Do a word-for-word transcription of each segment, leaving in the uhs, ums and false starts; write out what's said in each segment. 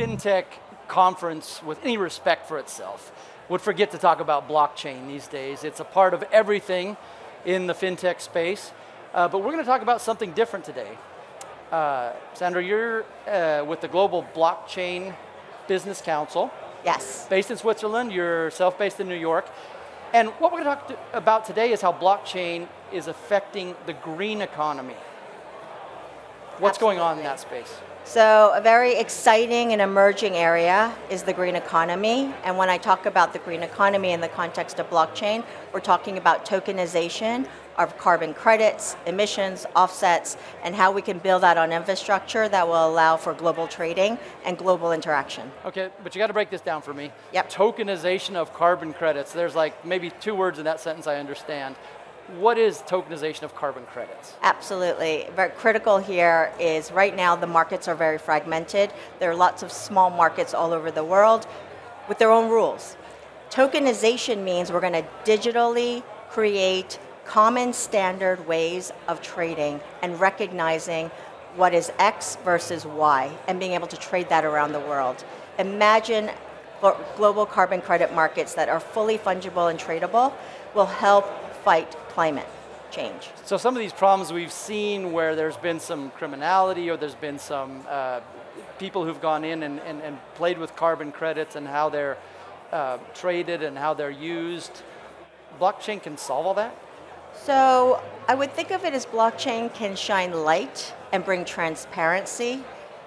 fintech conference with any respect for itself would forget to talk about blockchain these days. It's a part of everything in the fintech space. Uh, but we're going to talk about something different today. Uh, Sandra, you're uh, with the Global Blockchain Business Council. Yes. Based in Switzerland, you're self-based in New York. And what we're going to talk to about today is how blockchain is affecting the green economy. What's Absolutely. going on in that space? So a very exciting and emerging area is the green economy. And when I talk about the green economy in the context of blockchain, we're talking about tokenization of carbon credits, emissions, offsets, and how we can build out on infrastructure that will allow for global trading and global interaction. Okay, but you got to break this down for me. Yep. Tokenization of carbon credits. There's like maybe two words in that sentence I understand. What is tokenization of carbon credits? Absolutely. Very critical here is right now the markets are very fragmented. There are lots of small markets all over the world with their own rules. Tokenization means we're going to digitally create common standard ways of trading and recognizing what is X versus Y and being able to trade that around the world. Imagine global carbon credit markets that are fully fungible and tradable will help fight climate change. So some of these problems we've seen where there's been some criminality or there's been some uh, people who've gone in and, and, and played with carbon credits and how they're uh, traded and how they're used, blockchain can solve all that? So I would think of it as blockchain can shine light and bring transparency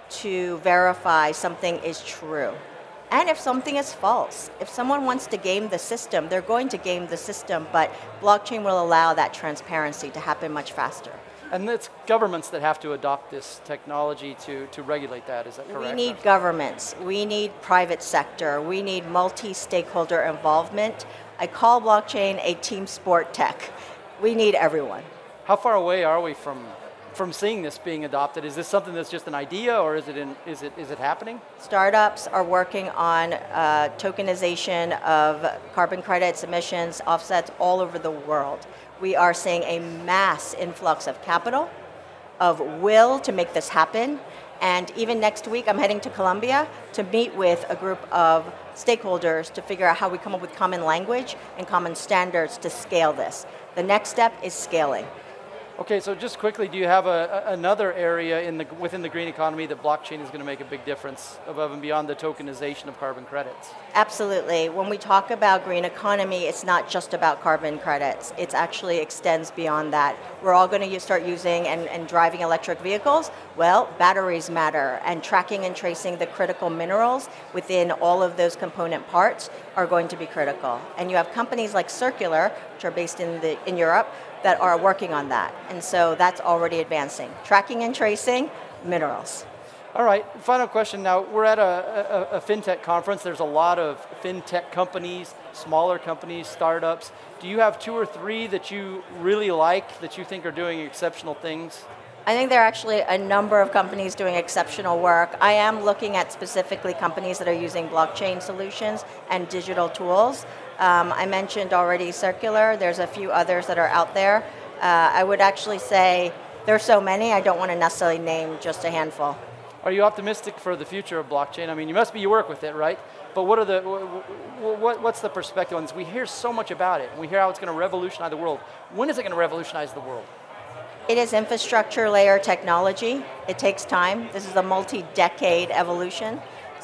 to verify something is true. And if something is false, if someone wants to game the system, they're going to game the system, but blockchain will allow that transparency to happen much faster. And it's governments that have to adopt this technology to, to regulate that, is that correct? We need governments, we need private sector, we need multi-stakeholder involvement. I call blockchain a team sport tech. We need everyone. How far away are we from from seeing this being adopted? Is this something that's just an idea, or is it in, is it is it happening? Startups are working on uh, tokenization of carbon credits, emissions, offsets all over the world. We are seeing a mass influx of capital, of will to make this happen, and even next week I'm heading to Colombia to meet with a group of stakeholders to figure out how we come up with common language and common standards to scale this. The next step is scaling. Okay, so just quickly, do you have a, a, another area in the, within the green economy that blockchain is going to make a big difference above and beyond the tokenization of carbon credits? Absolutely. When we talk about green economy, it's not just about carbon credits. It actually extends beyond that. We're all going to start using and, and driving electric vehicles. Well, batteries matter, and tracking and tracing the critical minerals within all of those component parts are going to be critical. And you have companies like Circular, which are based in the in Europe, that are working on that. And so that's already advancing. Tracking and tracing, minerals. All right, final question now. We're at a, a, a fintech conference. There's a lot of fintech companies, smaller companies, startups. Do you have two or three that you really like, that you think are doing exceptional things? I think there are actually a number of companies doing exceptional work. I am looking at specifically companies that are using blockchain solutions and digital tools. Um, I mentioned already Circular. There's a few others that are out there. Uh, I would actually say there's so many, I don't want to necessarily name just a handful. Are you optimistic for the future of blockchain? I mean, you must be, you work with it, right? But what are the, what, what's the perspective on this? We hear so much about it, and we hear how it's going to revolutionize the world. When is it going to revolutionize the world? It is infrastructure layer technology. It takes time. This is a multi-decade evolution.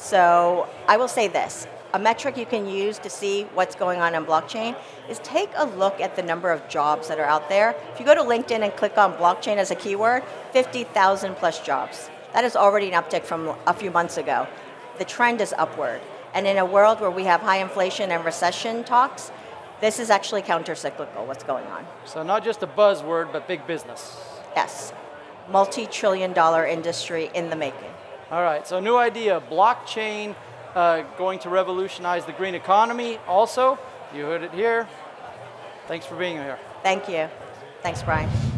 So I will say this. A metric you can use to see what's going on in blockchain is take a look at the number of jobs that are out there. If you go to LinkedIn and click on blockchain as a keyword, fifty thousand plus jobs. That is already an uptick from a few months ago. The trend is upward. And in a world where we have high inflation and recession talks, this is actually counter-cyclical, what's going on. So not just a buzzword, but big business. Yes. Multi-trillion dollar industry in the making. All right, so new idea, blockchain uh, going to revolutionize the green economy. Also, you heard it here. Thanks for being here. Thank you. Thanks, Brian.